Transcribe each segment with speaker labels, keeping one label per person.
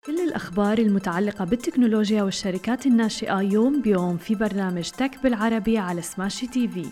Speaker 1: كل الأخبار المتعلقة بالتكنولوجيا والشركات الناشئة يوم بيوم في برنامج تك بالعربي على سماشي تي في.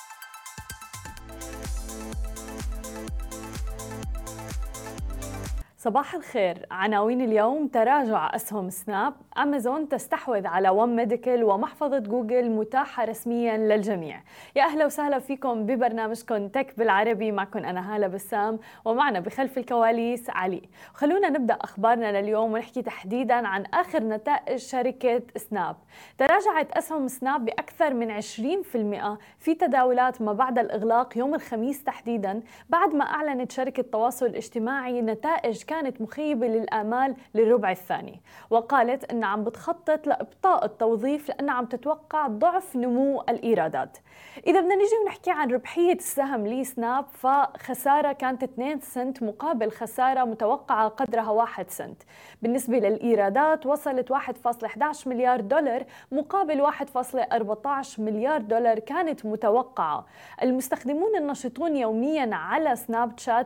Speaker 1: صباح الخير. عناوين اليوم: تراجع أسهم سناب، أمازون تستحوذ على ون ميديكال، ومحفظة جوجل متاحة رسمياً للجميع. يا أهلا وسهلا فيكم ببرنامجكم تك بالعربي، معكم أنا هالة بسام، ومعنا بخلف الكواليس علي. خلونا نبدأ أخبارنا لليوم ونحكي تحديداً عن آخر نتائج شركة سناب. تراجعت أسهم سناب بأكثر من 20% في تداولات ما بعد الإغلاق يوم الخميس تحديداً، بعد ما أعلنت شركة التواصل الاجتماعي نتائج كانت مخيبة للآمال للربع الثاني، وقالت أنها عم بتخطط لإبطاء التوظيف لأنها عم تتوقع ضعف نمو الإيرادات. إذا بدنا نيجي ونحكي عن ربحية السهم لسناب، فخسارة كانت 2 سنت مقابل خسارة متوقعة قدرها 1 سنت. بالنسبة للإيرادات وصلت 1.11 مليار دولار مقابل 1.14 مليار دولار كانت متوقعة. المستخدمون النشطون يوميا على سناب شات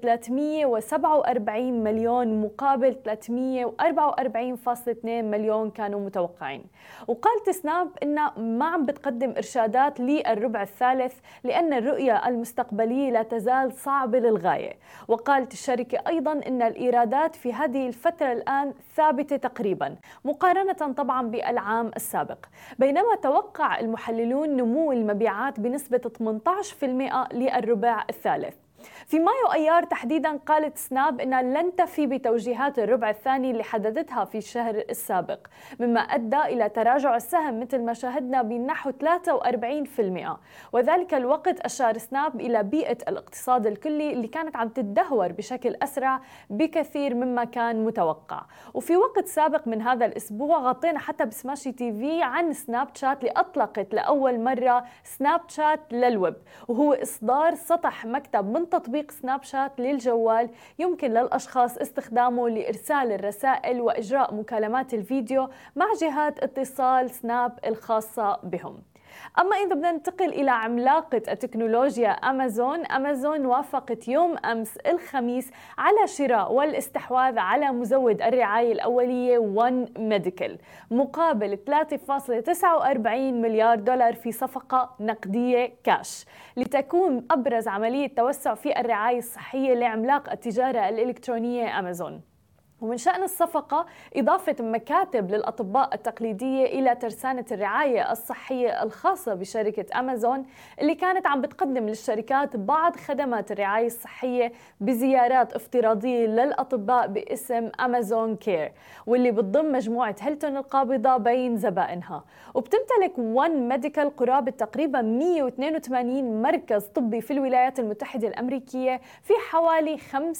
Speaker 1: 347 مليون مقابل 344.2 مليون كانوا متوقعين. وقالت سناب إنها ما عم بتقدم إرشادات للربع الثالث لأن الرؤية المستقبلية لا تزال صعبة للغاية. وقالت الشركة أيضاً إن الإيرادات في هذه الفترة الآن ثابتة تقريباً مقارنة طبعاً بالعام السابق، بينما توقع المحللون نمو المبيعات بنسبة 18% للربع الثالث. في مايو أيار تحديداً قالت سناب أنها لن تفي بتوجيهات الربع الثاني اللي حددتها في الشهر السابق، مما أدى إلى تراجع السهم مثل ما شاهدنا بنحو 43%. وذلك الوقت أشار سناب إلى بيئة الاقتصاد الكلي اللي كانت عم تتدهور بشكل أسرع بكثير مما كان متوقع. وفي وقت سابق من هذا الأسبوع غطينا حتى بسماشي تي في عن سناب شات اللي أطلقت لأول مرة سناب شات للويب، وهو إصدار سطح مكتب من تطبيق سناب شات للجوال يمكن للأشخاص استخدامه لإرسال الرسائل وإجراء مكالمات الفيديو مع جهات اتصال سناب الخاصة بهم. أما إذا بدنا ننتقل إلى عملاقة التكنولوجيا أمازون وافقت يوم أمس الخميس على شراء والاستحواذ على مزود الرعاية الأولية ون ميديكال مقابل 3.49 مليار دولار في صفقة نقدية كاش، لتكون أبرز عملية توسع في الرعاية الصحية لعملاق التجارة الإلكترونية أمازون. ومن شأن الصفقة إضافة مكاتب للأطباء التقليدية إلى ترسانة الرعاية الصحية الخاصة بشركة أمازون، اللي كانت عم بتقدم للشركات بعض خدمات الرعاية الصحية بزيارات افتراضية للأطباء باسم أمازون كير، واللي بتضم مجموعة هيلتون القابضة بين زبائنها. وبتمتلك ون ميديكال قرابة تقريبا 182 مركز طبي في الولايات المتحدة الأمريكية في حوالي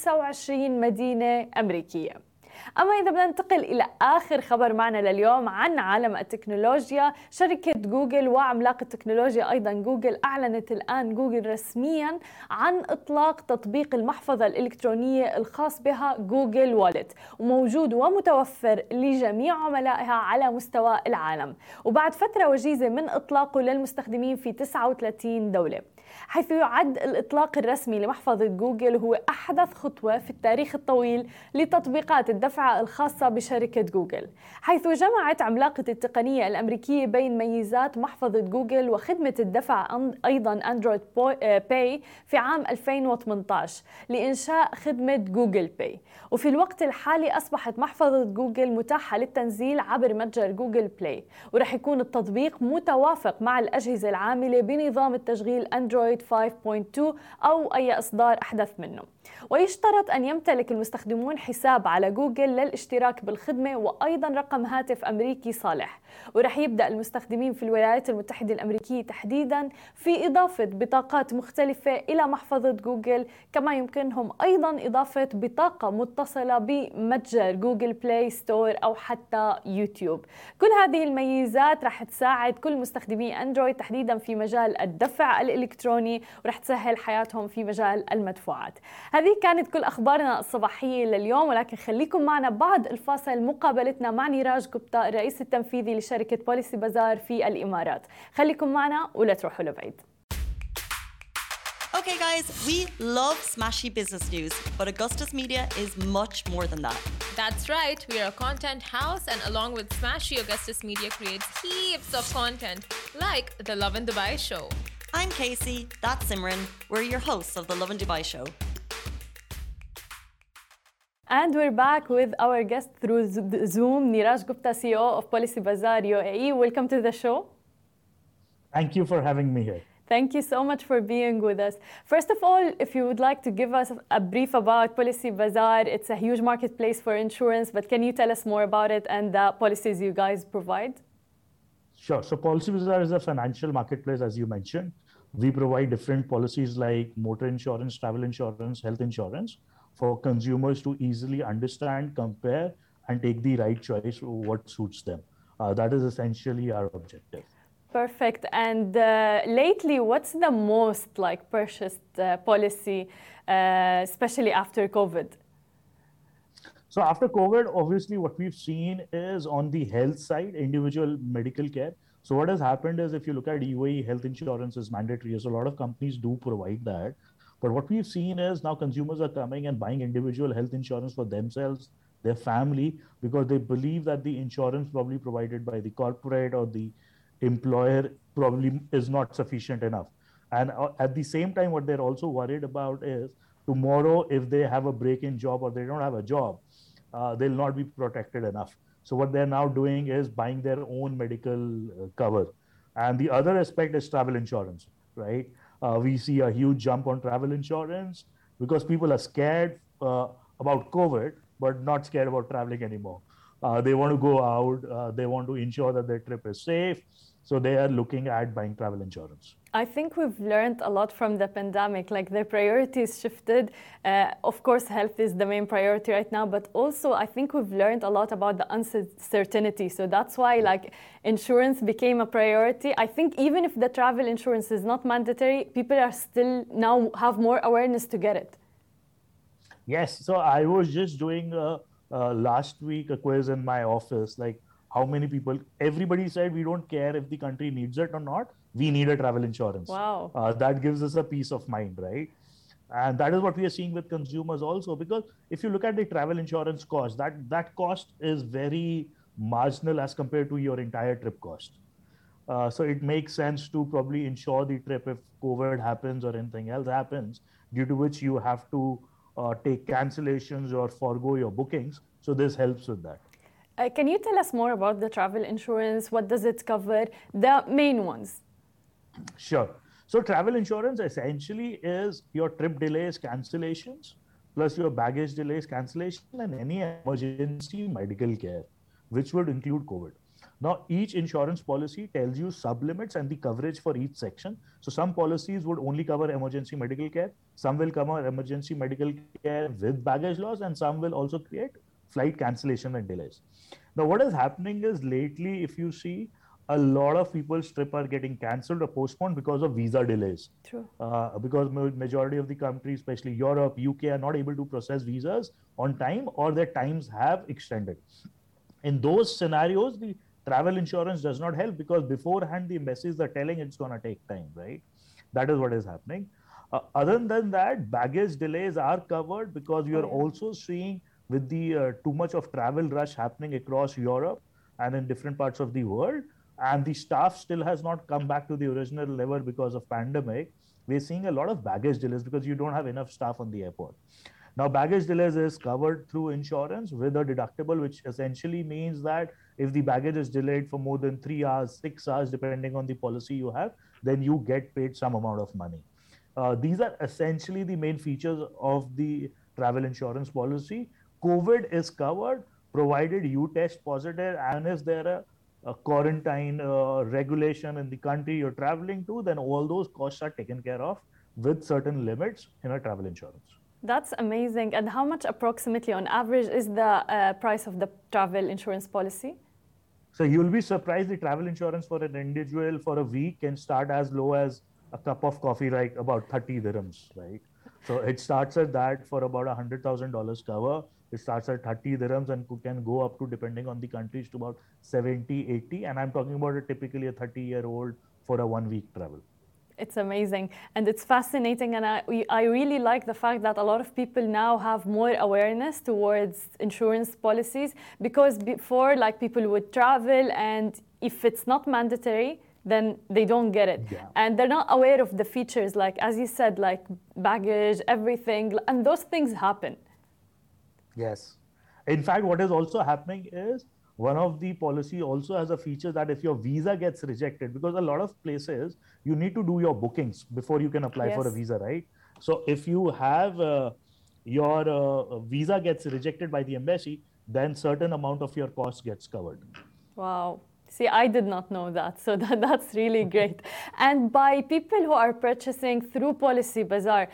Speaker 1: 25 مدينة أمريكية. أما إذا بدنا ننتقل إلى آخر خبر معنا لليوم عن عالم التكنولوجيا، شركة جوجل وعملاق التكنولوجيا أيضا جوجل أعلنت الآن جوجل رسميا عن إطلاق تطبيق المحفظة الإلكترونية الخاص بها جوجل والت، وموجود ومتوفر لجميع عملائها على مستوى العالم، وبعد فترة وجيزة من إطلاقه للمستخدمين في 39 دولة، حيث يعد الإطلاق الرسمي لمحفظة جوجل هو أحدث خطوة في التاريخ الطويل لتطبيقات الدفع الخاصة بشركة جوجل، حيث جمعت عملاقة التقنية الأمريكية بين ميزات محفظة جوجل وخدمة الدفع أيضا أندرويد باي في عام 2018 لإنشاء خدمة جوجل باي. وفي الوقت الحالي أصبحت محفظة جوجل متاحة للتنزيل عبر متجر جوجل بلاي، ورح يكون التطبيق متوافق مع الأجهزة العاملة بنظام التشغيل أندرويد 5.2 أو أي إصدار أحدث منه. ويشترط أن يمتلك المستخدمون حساب على جوجل للاشتراك بالخدمة وأيضا رقم هاتف أمريكي صالح. ورح يبدأ المستخدمين في الولايات المتحدة الأمريكية تحديدا في إضافة بطاقات مختلفة إلى محفظة جوجل، كما يمكنهم أيضا إضافة بطاقة متصلة بمتجر جوجل بلاي ستور أو حتى يوتيوب. كل هذه الميزات رح تساعد كل مستخدمي أندرويد تحديدا في مجال الدفع الإلكتروني، ورح تسهل حياتهم في مجال المدفوعات. هذه كانت كل أخبارنا الصباحية لليوم، ولكن خليكم معنا بعد الفاصل مقابلتنا مع نيراج جوبتا الرئيس التنفيذي لشركة بوليسي بازار في الإمارات. خليكم معنا ولا تروحوا لبعيد.
Speaker 2: Okay, guys, we love smashy business news, but Augustus Media is much more than that.
Speaker 3: That's right, we are a content house, and along with Smashy, Augustus Media creates heaps of content, like the Love in Dubai show.
Speaker 2: I'm Casey, that's Simran. We're your hosts of the Love in Dubai show.
Speaker 1: And we're back with our guest through Zoom, Niraj Gupta, CEO of Policy Bazaar UAE. Welcome to the show.
Speaker 4: Thank you for having me here.
Speaker 1: Thank you so much for being with us. First of all, if you would like to give us a brief about Policy Bazaar, it's a huge marketplace for insurance, but can you tell us more about it and the policies you guys provide?
Speaker 4: Sure. So Policy Bazaar is a financial marketplace, as you mentioned. We provide different policies like motor insurance, travel insurance, health insurance for consumers to easily understand, compare, and take the right choice for what suits them. That is essentially our objective.
Speaker 1: Perfect. And lately, what's the most purchased policy, especially after COVID?
Speaker 4: So after COVID, obviously what we've seen is on the health side, individual medical care. So what has happened is if you look at UAE, health insurance is mandatory. So a lot of companies do provide that. But what we've seen is now consumers are coming and buying individual health insurance for themselves, their family, because they believe that the insurance probably provided by the corporate or the employer probably is not sufficient enough. And at the same time, what they're also worried about is tomorrow, if they have a break-in job or they don't have a job, they'll not be protected enough. So what they're now doing is buying their own medical cover. And the other aspect is travel insurance, right? We see a huge jump on travel insurance because people are scared about COVID, but not scared about traveling anymore. They want to go out, they want to ensure that their trip is safe. So they are looking at buying travel insurance.
Speaker 1: I think we've learned a lot from the pandemic, their priorities shifted. Of course, health is the main priority right now, but also I think we've learned a lot about the uncertainty. So that's why insurance became a priority. I think even if the travel insurance is not mandatory, people are still now have more awareness to get it.
Speaker 4: Yes, so I was just doing last week a quiz in my office, how many people, everybody said we don't care if the country needs it or not, we need a travel insurance.
Speaker 1: Wow.
Speaker 4: That gives us a peace of mind, right? And that is what we are seeing with consumers also, because if you look at the travel insurance cost, that cost is very marginal as compared to your entire trip cost. So it makes sense to probably insure the trip if COVID happens or anything else happens, due to which you have to take cancellations or forego your bookings. So this helps with that.
Speaker 1: Can you tell us more about the travel insurance? What does it cover? The main ones.
Speaker 4: Sure. So travel insurance essentially is your trip delays, cancellations, plus your baggage delays, cancellation, and any emergency medical care, which would include COVID. Now, each insurance policy tells you sublimits and the coverage for each section. So some policies would only cover emergency medical care. Some will cover emergency medical care with baggage loss, and some will also create flight cancellation and delays. Now, what is happening is lately, if you see, a lot of people's trip are getting cancelled or postponed because of visa delays.
Speaker 1: True.
Speaker 4: Because majority of the countries, especially Europe, UK, are not able to process visas on time, or their times have extended. In those scenarios, the travel insurance does not help because beforehand the embassies are telling it's going to take time, right? That is what is happening. Other than that, baggage delays are covered because we are also seeing with the too much of travel rush happening across Europe and in different parts of the world, and the staff still has not come back to the original level because of pandemic. We're seeing a lot of baggage delays because you don't have enough staff on the airport. Now, baggage delays is covered through insurance with a deductible, which essentially means that if the baggage is delayed for more than 3 hours, 6 hours, depending on the policy you have, then you get paid some amount of money. These are essentially the main features of the travel insurance policy. COVID is covered, provided you test positive, and is there a quarantine regulation in the country you're traveling to, then all those costs are taken care of with certain limits in a travel insurance.
Speaker 1: That's amazing. And how much approximately on average is the price of the travel insurance policy?
Speaker 4: So you'll be surprised, the travel insurance for an individual for a week can start as low as a cup of coffee, like about 30 dirhams, right? So it starts at that for about $100,000 cover. It starts at 30 dirhams and can go up to, depending on the countries, to about 70, 80. And I'm talking about typically a 30-year-old for a 1 week travel.
Speaker 1: It's amazing and it's fascinating, and I really like the fact that a lot of people now have more awareness towards insurance policies, because before, like, people would travel and if it's not mandatory, then they don't get it.
Speaker 4: Yeah.
Speaker 1: And they're not aware of the features, like, as you said, like baggage, everything, and those things happen.
Speaker 4: Yes. In fact, what is also happening is one of the policy also has a feature that if your visa gets rejected, because a lot of places you need to do your bookings before you can apply for a
Speaker 1: Yes.
Speaker 4: visa, right? So if you have your visa gets rejected by the embassy, then certain amount of your cost gets covered.
Speaker 1: Wow. See, I did not know that, so that's really great. And by people who are purchasing through Policy Bazaar,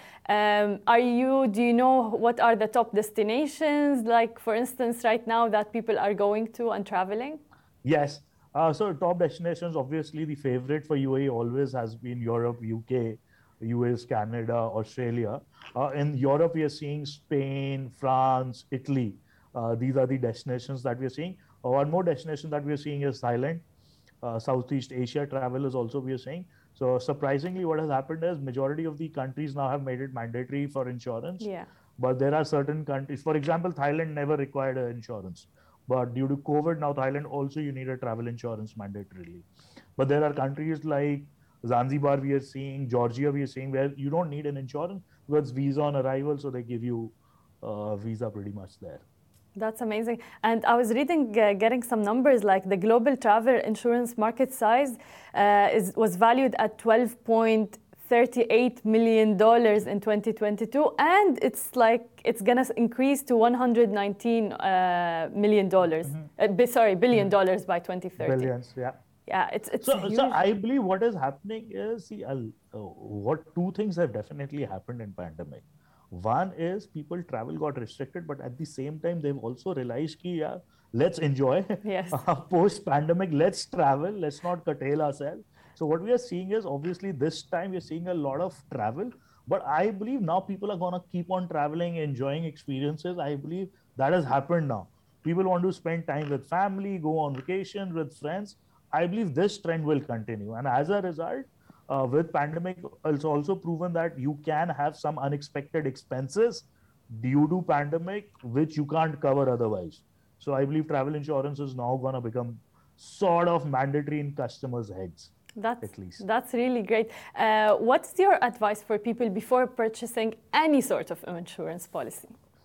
Speaker 1: do you know what are the top destinations, like, for instance, right now that people are going to and traveling?
Speaker 4: Yes. So top destinations, obviously the favorite for UAE always has been Europe, UK, US, Canada, Australia. In Europe, we are seeing Spain, France, Italy. These are the destinations that we are seeing. One more destination that we are seeing is Thailand. Southeast Asia travel is also we are seeing. So surprisingly, what has happened is majority of the countries now have made it mandatory for insurance.
Speaker 1: Yeah.
Speaker 4: But there are certain countries, for example, Thailand never required insurance. But due to COVID, now Thailand also you need a travel insurance mandatorily. But there are countries like Zanzibar we are seeing, Georgia we are seeing, where you don't need an insurance because it's visa on arrival, so they give you visa pretty much there.
Speaker 1: That's amazing. And I was reading, getting some numbers, like the global travel insurance market size was valued at $12.38 million in 2022, and it's gonna increase to $119 million. Billion dollars by 2030.
Speaker 4: Billions, yeah.
Speaker 1: Yeah, it's huge.
Speaker 4: So I believe what is happening is, what two things have definitely happened in pandemic. One is people travel got restricted, but at the same time they've also realized ki, yeah, let's enjoy.
Speaker 1: Yes.
Speaker 4: Post pandemic, let's travel, let's not curtail ourselves. So what we are seeing is, obviously this time we're seeing a lot of travel, but I believe now people are gonna keep on traveling, enjoying experiences. I believe that has happened now. People want to spend time with family, go on vacation with friends. I believe this trend will continue, and as a result, with pandemic, it's also proven that you can have some unexpected expenses due to pandemic, which you can't cover otherwise. So I believe travel insurance is now going to become sort of mandatory in customers' heads. At least.
Speaker 1: That's really great. What's your advice for people before purchasing any sort of insurance policy?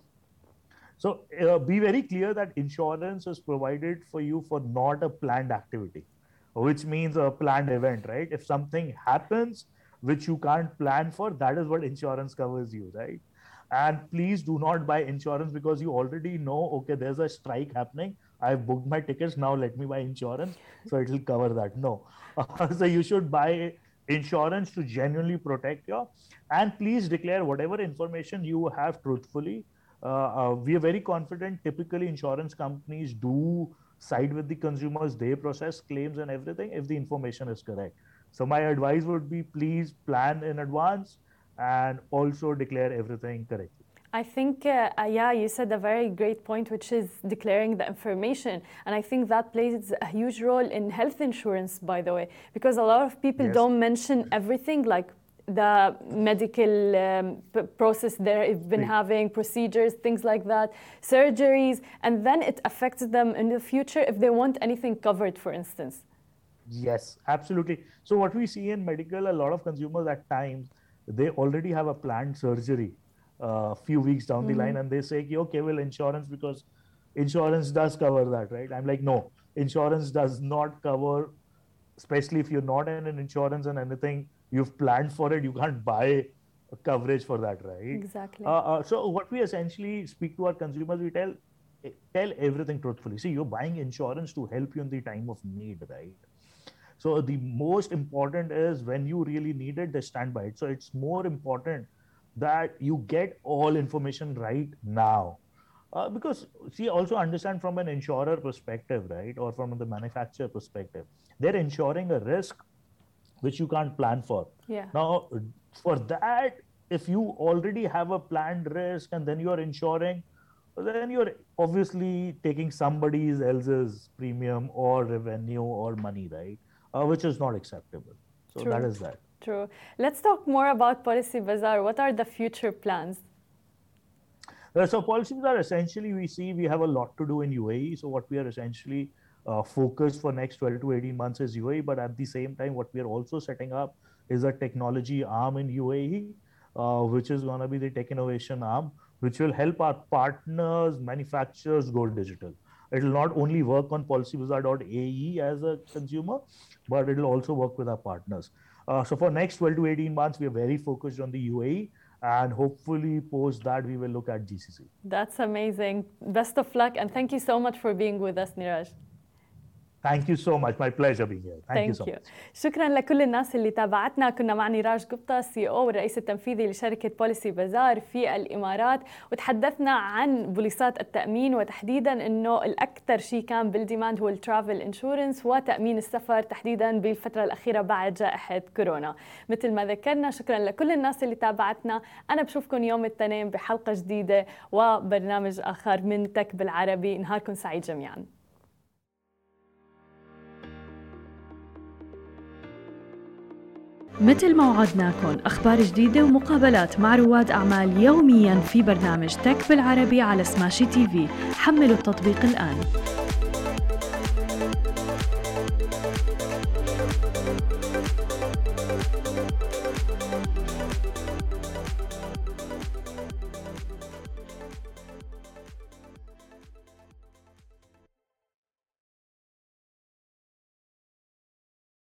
Speaker 4: So be very clear that insurance is provided for you for not a planned activity, which means a planned event, right? If something happens which you can't plan for, that is what insurance covers you, right? And please do not buy insurance because you already know, okay, there's a strike happening. I've booked my tickets, now let me buy insurance, so it will cover that. No. So you should buy insurance to genuinely protect you. And please declare whatever information you have truthfully. We are very confident, typically insurance companies do side with the consumers, they process claims and everything if the information is correct. So my advice would be, please plan in advance and also declare everything correctly.
Speaker 1: I think, yeah, you said a very great point, which is declaring the information. And I think that plays a huge role in health insurance, by the way, because a lot of people don't mention everything, like the medical process they've been having, procedures, things like that, surgeries, and then it affects them in the future if they want anything covered, for instance.
Speaker 4: Yes, absolutely. So what we see in medical, a lot of consumers at times, they already have a planned surgery a few weeks down the line, and they say, okay, well, insurance, because insurance does cover that, right? I'm like, no, insurance does not cover, especially if you're not in an insurance and anything you've planned for it, you can't buy coverage for that, right?
Speaker 1: Exactly.
Speaker 4: So what we essentially speak to our consumers, we tell everything truthfully. See, you're buying insurance to help you in the time of need, right? So the most important is when you really need it, they stand by it. So it's more important that you get all information right now. Because, see, also understand from an insurer perspective, right? Or from the manufacturer perspective, they're insuring a risk which you can't plan for.
Speaker 1: Yeah.
Speaker 4: Now, for that, if you already have a planned risk and then you're insuring, then you're obviously taking somebody else's premium or revenue or money, right? Which is not acceptable. So
Speaker 1: True.
Speaker 4: that is that.
Speaker 1: true. Let's talk more about Policy Bazaar. What are the future plans?
Speaker 4: So Policy Bazaar, essentially, we have a lot to do in UAE. So what we are essentially focused for next 12 to 18 months is UAE. But at the same time, what we are also setting up is a technology arm in UAE, which is going to be the tech innovation arm, which will help our partners, manufacturers go digital. It will not only work on policybazaar.ae as a consumer, but it will also work with our partners. So for next 12 to 18 months, we are very focused on the UAE, and hopefully post that we will look at GCC.
Speaker 1: That's amazing. Best of luck, and thank you so much for being with us, Niraj.
Speaker 4: Thank you so much. My pleasure being here. Thank you so much.
Speaker 1: شكرا لكل الناس اللي تابعتنا. كنا مع نيراج قبطة CEO والرئيس التنفيذي لشركة بوليسي بازار في الإمارات، وتحدثنا عن بوليصات التأمين، وتحديدا أنه الأكثر شيء كان بالديماند هو الترافل انشورنس وتأمين السفر تحديدا بالفترة الأخيرة بعد جائحة كورونا. مثل ما ذكرنا، شكرا لكل الناس اللي تابعتنا. أنا بشوفكم يوم الاثنين بحلقة جديدة وبرنامج آخر من تك بالعربي. نهاركم سعيد جميعا. مثل ما وعدناكم، أخبار جديدة ومقابلات مع رواد أعمال يومياً في برنامج تك بالعربي على سماشي تي في. حملوا التطبيق الآن.